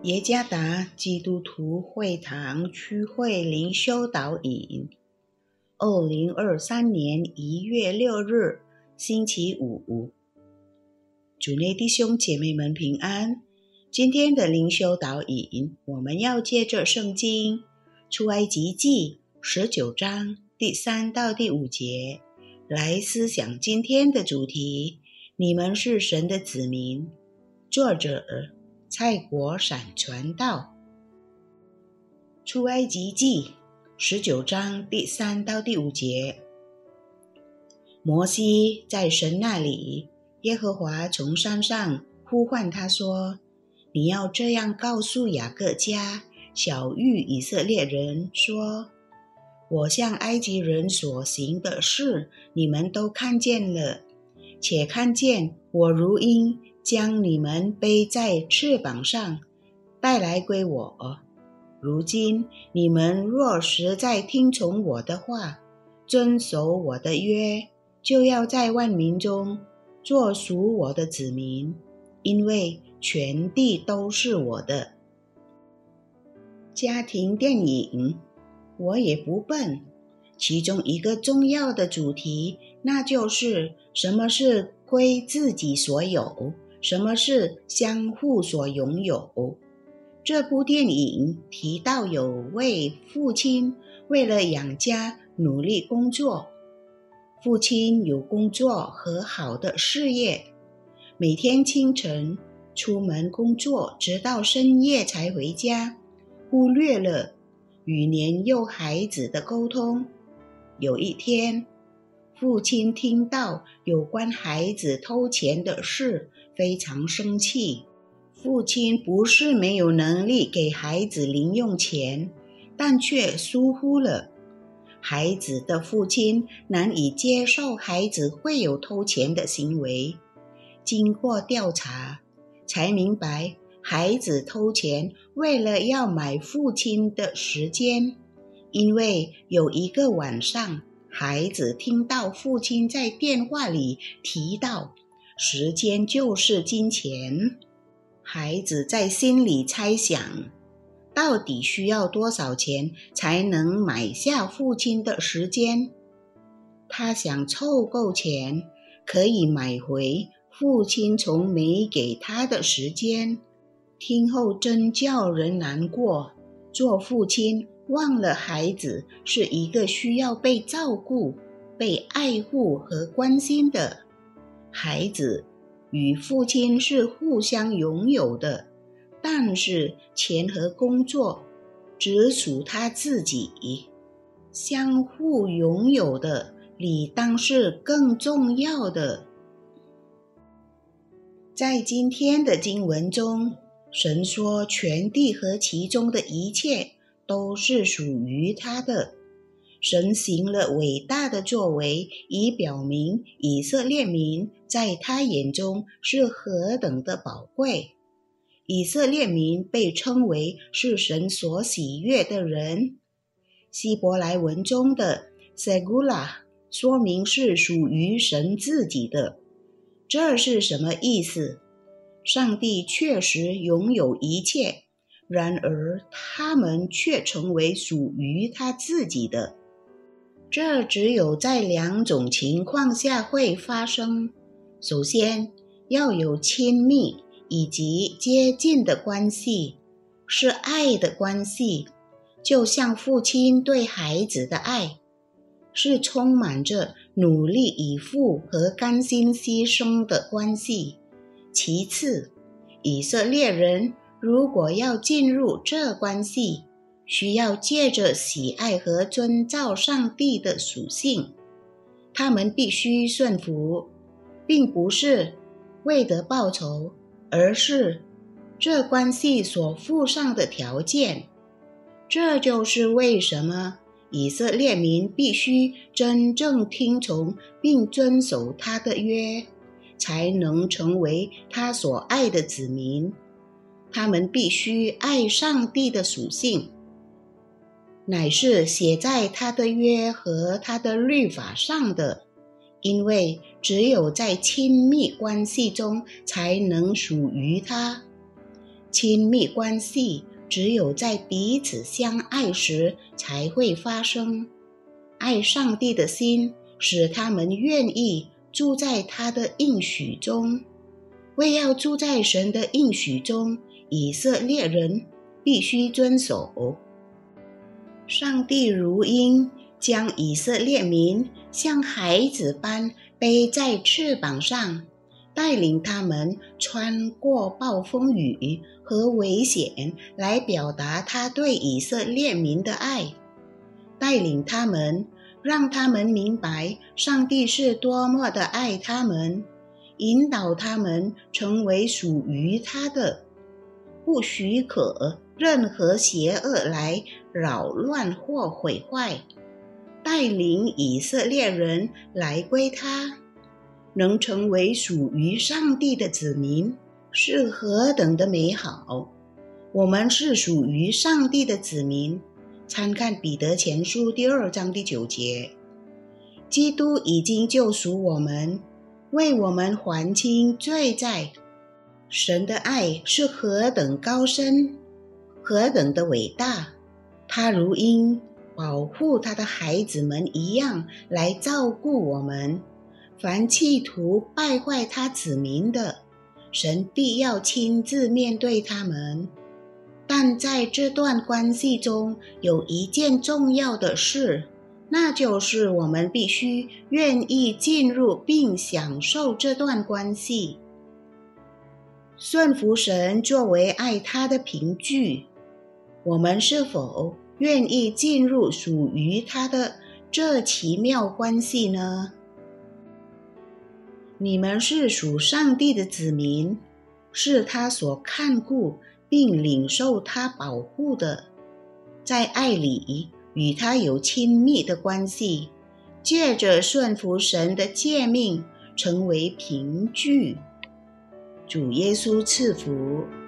耶加达基督徒会堂区会灵修导引2023年1月6日星期五，主内弟兄姐妹们平安。今天的灵修导引，我们要借着圣经出埃及记19章第3到第5节来思想今天的主题：你们是神的子民。作者蔡国闪传道。出埃及记19章第3到第5节，摩西在神那里，耶和华从山上呼唤他说：你要这样告诉雅各家，晓谕以色列人说，我向埃及人所行的事，你们都看见了，且看见我如鹰将你们背在翅膀上，带来归我。如今你们若实在听从我的话，遵守我的约，就要在万民中做属我的子民，因为全地都是我的。家庭电影我也不笨，其中一个重要的主题，那就是什么是归自己所有，什么是相互所拥有。这部电影提到有位父亲为了养家努力工作，父亲有工作和好的事业，每天清晨出门工作，直到深夜才回家，忽略了与年幼孩子的沟通。有一天，父亲听到有关孩子偷钱的事，非常生气。父亲不是没有能力给孩子零用钱，但却疏忽了孩子的父亲，难以接受孩子会有偷钱的行为。经过调查，才明白孩子偷钱为了要买父亲的时间，因为有一个晚上，孩子听到父亲在电话里提到时间就是金钱。孩子在心里猜想，到底需要多少钱才能买下父亲的时间？他想凑够钱，可以买回父亲从没给他的时间。听后真叫人难过，做父亲忘了孩子是一个需要被照顾、被爱护和关心的。孩子与父亲是互相拥有的，但是钱和工作只属他自己。相互拥有的理当是更重要的。在今天的经文中，神说全地和其中的一切都是属于他的。神行了伟大的作为，以表明以色列民在他眼中是何等的宝贵。以色列民被称为是神所喜悦的人。希伯来文中的 Segula 说明是属于神自己的。这是什么意思？上帝确实拥有一切，然而他们却成为属于他自己的。这只有在两种情况下会发生。首先，要有亲密以及接近的关系，是爱的关系，就像父亲对孩子的爱，是充满着努力以赴和甘心牺牲的关系。其次，以色列人如果要进入这关系，需要借着喜爱和遵照上帝的属性，他们必须顺服，并不是为得报酬，而是这关系所附上的条件。这就是为什么以色列民必须真正听从并遵守他的约，才能成为他所爱的子民。他们必须爱上帝的属性，乃是写在他的约和他的律法上的，因为只有在亲密关系中才能属于他。 亲密关系只有在彼此相爱时才会发生。爱上帝的心使他们愿意住在他的应许中。为要住在神的应许中，以色列人必须遵守。上帝如鹰将以色列民像孩子般背在翅膀上，带领他们穿过暴风雨和危险，来表达他对以色列民的爱，带领他们，让他们明白上帝是多么的爱他们，引导他们成为属于他的，不许可任何邪恶来扰乱或毁坏，带领以色列人来归他，能成为属于上帝的子民，是何等的美好！我们是属于上帝的子民，参看彼得前书第2章第9节。基督已经救赎我们，为我们还清罪债。神的爱是何等高深，何等的伟大！他如鹰保护他的孩子们一样来照顾我们。凡企图败坏他子民的，神必要亲自面对他们。但在这段关系中，有一件重要的事，那就是我们必须愿意进入并享受这段关系。顺服神作为爱他的凭据，我们是否愿意进入属于他的这奇妙关系呢？你们是属上帝的子民，是他所看顾并领受他保护的，在爱里与他有亲密的关系，借着顺服神的诫命成为凭据。主耶稣赐福。